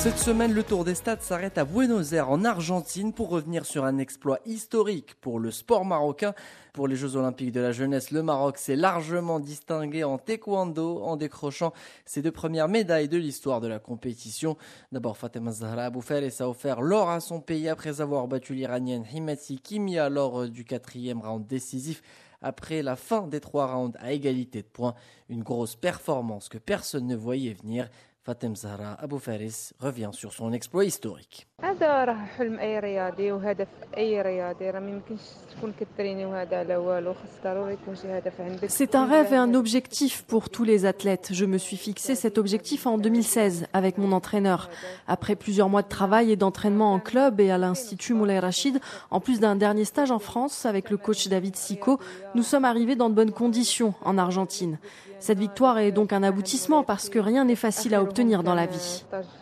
Cette semaine, le Tour des Stades s'arrête à Buenos Aires en Argentine pour revenir sur un exploit historique pour le sport marocain. Pour les Jeux Olympiques de la jeunesse, le Maroc s'est largement distingué en taekwondo en décrochant ses 2 premières médailles de l'histoire de la compétition. D'abord, Fatema Zahra Abou-Fares a offert l'or à son pays après avoir battu l'Iranienne Himati Kimia lors du 4e round décisif. Après la fin des 3 rounds à égalité de points, une grosse performance que personne ne voyait venir. Fatema Zahra Abou-Fares revient sur son exploit historique. هذا راه حلم اي رياضي وهدف اي رياضي راه ما يمكنش تكون كتريني وهذا على والو خاص ضروري يكون شي هدف عندك. C'est un rêve et un objectif pour tous les athlètes. Je me suis fixé cet objectif en 2016 avec mon entraîneur. Après plusieurs mois de travail et d'entraînement en club et à l'Institut Moulay Rachid, en plus d'un dernier stage en France avec le coach David Sico, nous sommes arrivés dans de bonnes conditions en Argentine. Cette victoire est donc un aboutissement parce que rien n'est facile à obtenir dans la vie.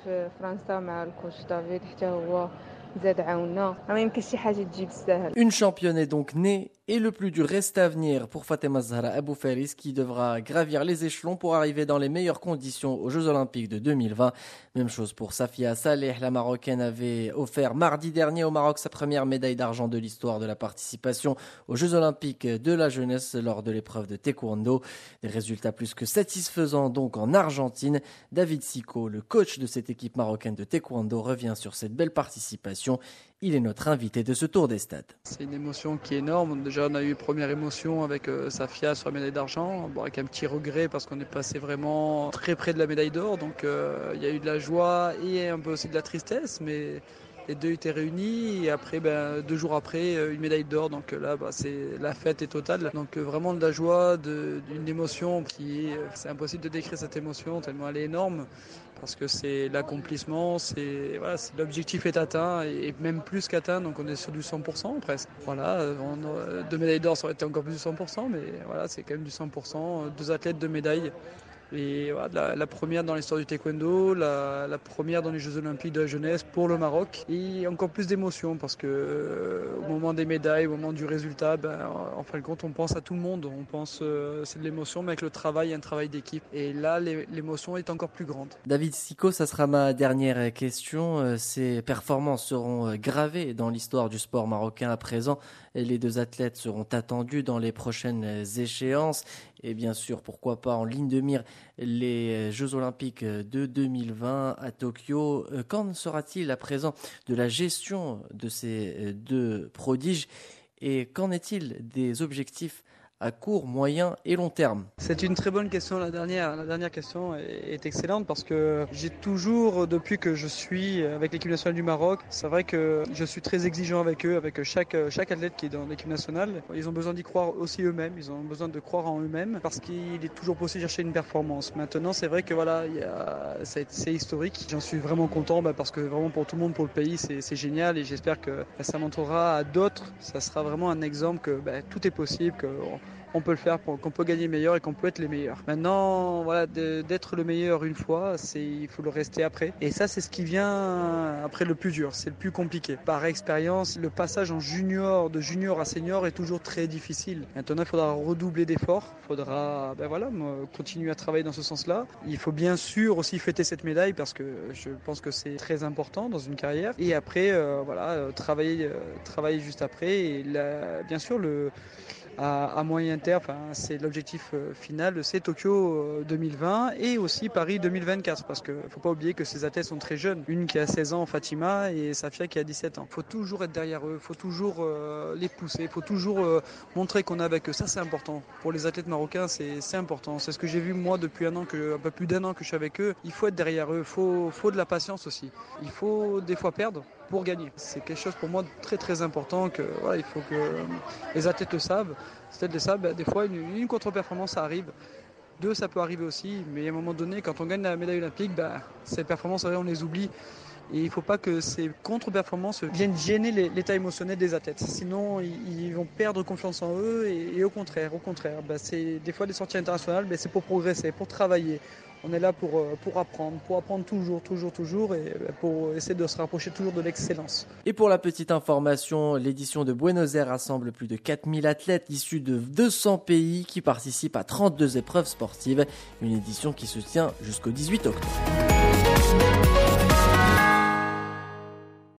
Une championne est donc née et le plus dur reste à venir pour Fatema Zahra Abou-Fares qui devra gravir les échelons pour arriver dans les meilleures conditions aux Jeux Olympiques de 2020. Même chose pour Safia Saleh, la Marocaine avait offert mardi dernier au Maroc sa première médaille d'argent de l'histoire de la participation aux Jeux Olympiques de la jeunesse lors de l'épreuve de taekwondo. Des résultats plus que satisfaisants donc en Argentine. David Sico, le coach de cette équipe marocaine de taekwondo, revient sur cette belle participation. Il est notre invité de ce Tour des Stades. C'est une émotion qui est énorme. Déjà, on a eu une première émotion avec Safia sur la médaille d'argent, avec un petit regret parce qu'on est passé vraiment très près de la médaille d'or. Donc, il y a eu de la joie et un peu aussi de la tristesse, mais les deux étaient réunis et après, 2 jours après, une médaille d'or. Donc là, la fête est totale. Donc vraiment de la joie, d'une émotion c'est impossible de décrire cette émotion tellement elle est énorme. Parce que c'est l'accomplissement, l'objectif est atteint et même plus qu'atteint, donc on est sur du 100% presque. Voilà, 2 médailles d'or, ça aurait été encore plus du 100%, mais voilà, c'est quand même du 100%. 2 athlètes, 2 médailles. Et voilà, la première dans l'histoire du taekwondo, la première dans les Jeux Olympiques de la jeunesse pour le Maroc. Et encore plus d'émotion parce que au moment des médailles, au moment du résultat, en fin de compte, on pense à tout le monde. On pense, c'est de l'émotion, mais avec le travail, un travail d'équipe. Et là, l'émotion est encore plus grande. David Sico, ça sera ma dernière question. Ces performances seront gravées dans l'histoire du sport marocain à présent. Les 2 athlètes seront attendus dans les prochaines échéances. Et bien sûr, pourquoi pas en ligne de mire les Jeux Olympiques de 2020 à Tokyo. Qu'en sera-t-il à présent de la gestion de ces 2 prodiges et qu'en est-il des objectifs à court, moyen et long terme? C'est une très bonne question, la dernière question est excellente parce que j'ai toujours, depuis que je suis avec l'équipe nationale du Maroc, c'est vrai que je suis très exigeant avec eux, avec chaque athlète qui est dans l'équipe nationale. Ils ont besoin d'y croire aussi eux-mêmes, ils ont besoin de croire en eux-mêmes parce qu'il est toujours possible de chercher une performance. Maintenant, c'est vrai que voilà, c'est historique. J'en suis vraiment content parce que vraiment pour tout le monde, pour le pays, c'est génial et j'espère que ça montrera à d'autres. Ça sera vraiment un exemple que tout est possible, qu'on peut le faire, qu'on peut gagner meilleur et qu'on peut être les meilleurs. Maintenant, voilà, d'être le meilleur une fois, il faut le rester après. Et ça, c'est ce qui vient après le plus dur, c'est le plus compliqué. Par expérience, le passage de junior à senior est toujours très difficile. Maintenant, il faudra redoubler d'efforts, il faudra continuer à travailler dans ce sens-là. Il faut bien sûr aussi fêter cette médaille parce que je pense que c'est très important dans une carrière. Et après, travailler juste après. Et bien sûr, à moyen terme, c'est l'objectif final, c'est Tokyo 2020 et aussi Paris 2024 parce qu'il ne faut pas oublier que ces athlètes sont très jeunes. Une qui a 16 ans, Fatima, et Safia qui a 17 ans. Il faut toujours être derrière eux, il faut toujours les pousser, il faut toujours montrer qu'on est avec eux. Ça, c'est important. Pour les athlètes marocains, c'est important. C'est ce que j'ai vu moi depuis un peu plus d'1 an que je suis avec eux. Il faut être derrière eux, il faut de la patience aussi. Il faut des fois perdre pour gagner. C'est quelque chose pour moi de très très important il faut que les athlètes le savent. Les athlètes le savent, des fois une contre-performance ça arrive. 2 ça peut arriver aussi, mais à un moment donné quand on gagne la médaille olympique, ces performances on les oublie. Et il ne faut pas que ces contre-performances viennent gêner l'état émotionnel des athlètes. Sinon, ils vont perdre confiance en eux et au contraire, c'est des fois des sorties internationales, c'est pour progresser, pour travailler. On est là pour apprendre toujours et pour essayer de se rapprocher toujours de l'excellence. Et pour la petite information, l'édition de Buenos Aires rassemble plus de 4000 athlètes issus de 200 pays qui participent à 32 épreuves sportives. Une édition qui se tient jusqu'au 18 octobre.